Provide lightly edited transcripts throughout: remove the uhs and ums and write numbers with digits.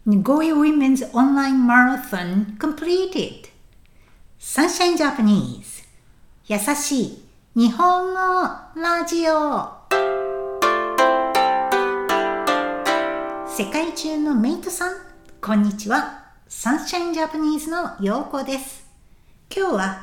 Nagoya Women's Online Marathon completed. Sunshine Japanese 優しい日本語ラジオ。世界中のメイトさん、こんにちは。Sunshine Japanese のようこです。今日は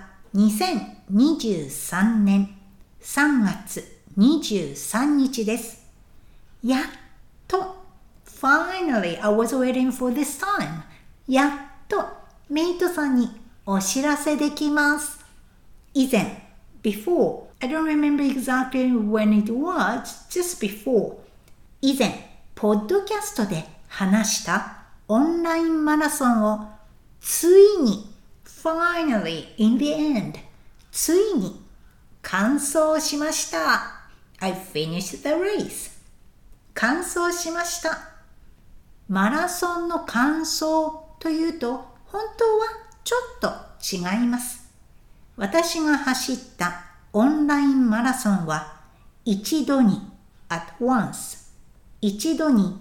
2023年3月23日です。やっとFinally, I was waiting for this time. やっとメイトさんにお知らせできます。以前、before, I don't remember exactly when it was, just before. 以前、ポッドキャストで話したオンラインマラソンをついに、finally, in the end, ついに完走しました。I finished the race. 完走しました。マラソンの完走というと本当はちょっと違います。私が走ったオンラインマラソンは一度に at once 一度に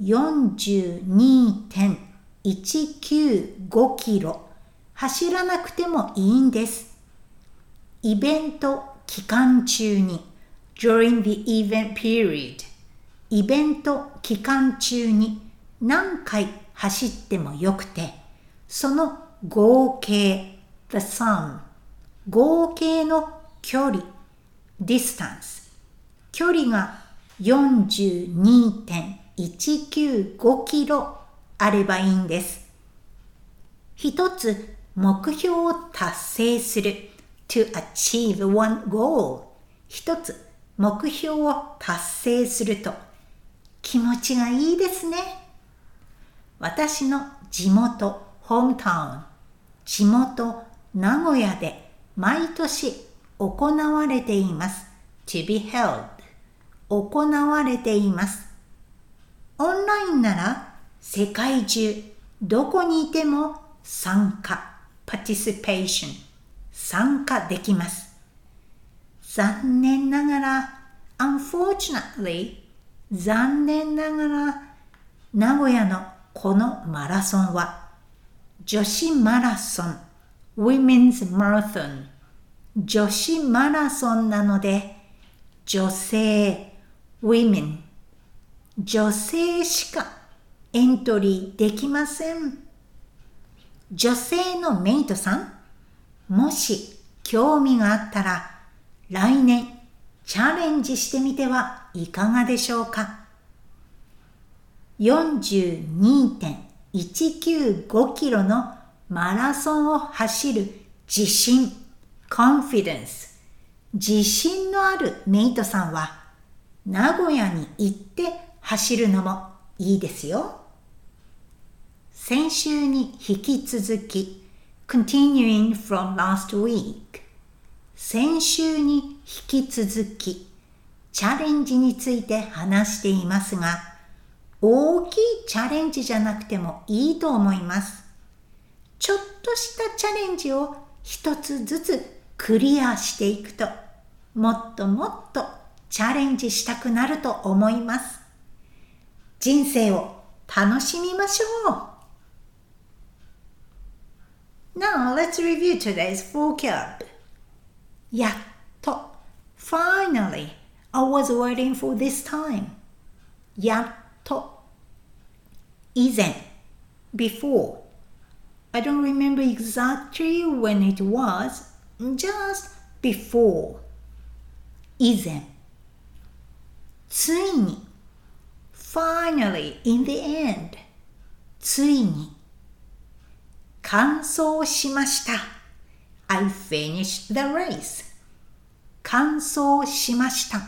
42.195 キロ走らなくてもいいんです。イベント期間中に during the event period イベント期間中に何回走ってもよくて、その合計 the sum 合計の距離 distance 距離が 42.195 キロあればいいんです。一つ目標を達成する to achieve one goal 一つ目標を達成すると気持ちがいいですね。私の地元、ホームタウン、地元、名古屋で毎年行われています。to be held 行われています。オンラインなら世界中どこにいても参加、participation 参加できます。残念ながら、unfortunately 残念ながら名古屋のこのマラソンは女子マラソン Women's Marathon 女子マラソンなので女性 Women 女性しかエントリーできません。女性のメイトさんもし興味があったら来年チャレンジしてみてはいかがでしょうか。42.195 キロのマラソンを走る自信 confidence 自信のあるメイトさんは名古屋に行って走るのもいいですよ。先週に引き続き continuing from last week 先週に引き続きチャレンジについて話していますが大きいチャレンジじゃなくてもいいと思います。ちょっとしたチャレンジを一つずつクリアしていくと、もっともっとチャレンジしたくなると思います。人生を楽しみましょう。Now let's review today's vocab. やっと Finally, I was waiting for this time. やっと以前 before I don't remember exactly when it was just before 以前ついに finally in the end ついに完走しました I finished the race 完走しました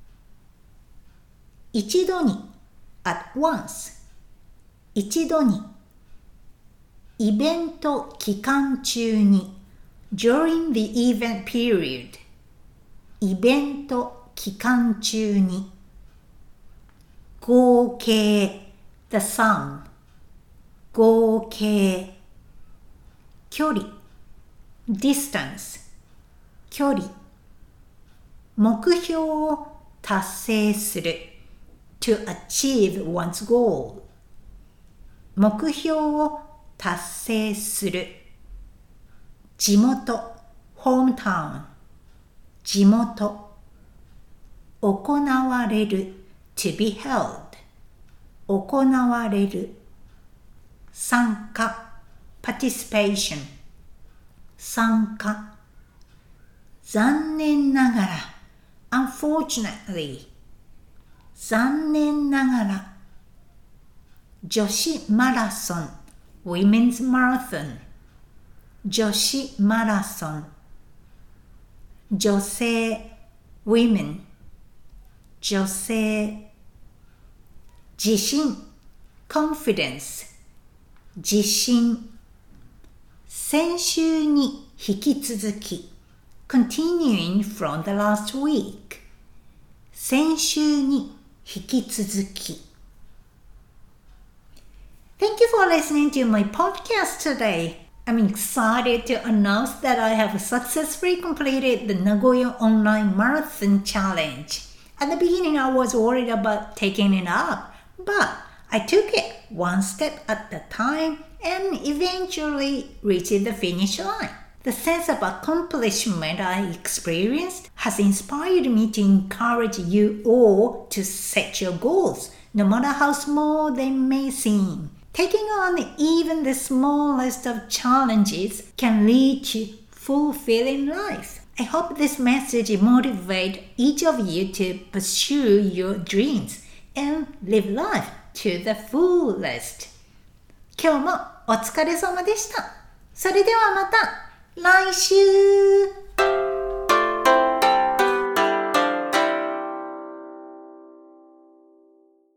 一度にat once 一度にイベント期間中に during the event period イベント期間中に合計 the sum 合計距離 distance 距離目標を達成するTo achieve one's goal 目標を達成する。地元 hometown 地元。行われる to be held 行われる。参加 participation 参加。残念ながら unfortunately 残念ながら。女子マラソン women's marathon 女子マラソン。女性 women 女性。自信 confidence 自信。先週に引き続き continuing from the last week 先週に引き続き。Thank you for listening to my podcast today. I'm excited to announce that I have successfully completed the Nagoya Online Marathon Challenge. At the beginning, I was worried about taking it up, but I took it one step at a time and eventually reached the finish line. The sense of accomplishment I experienced has inspired me to encourage you all to set your goals, no matter how small they may seem.Taking on even the smallest of challenges can lead to fulfilling life. I hope this message motivates each of you to pursue your dreams and live life to the fullest. 今日もお疲れ様でした。それではまた来週。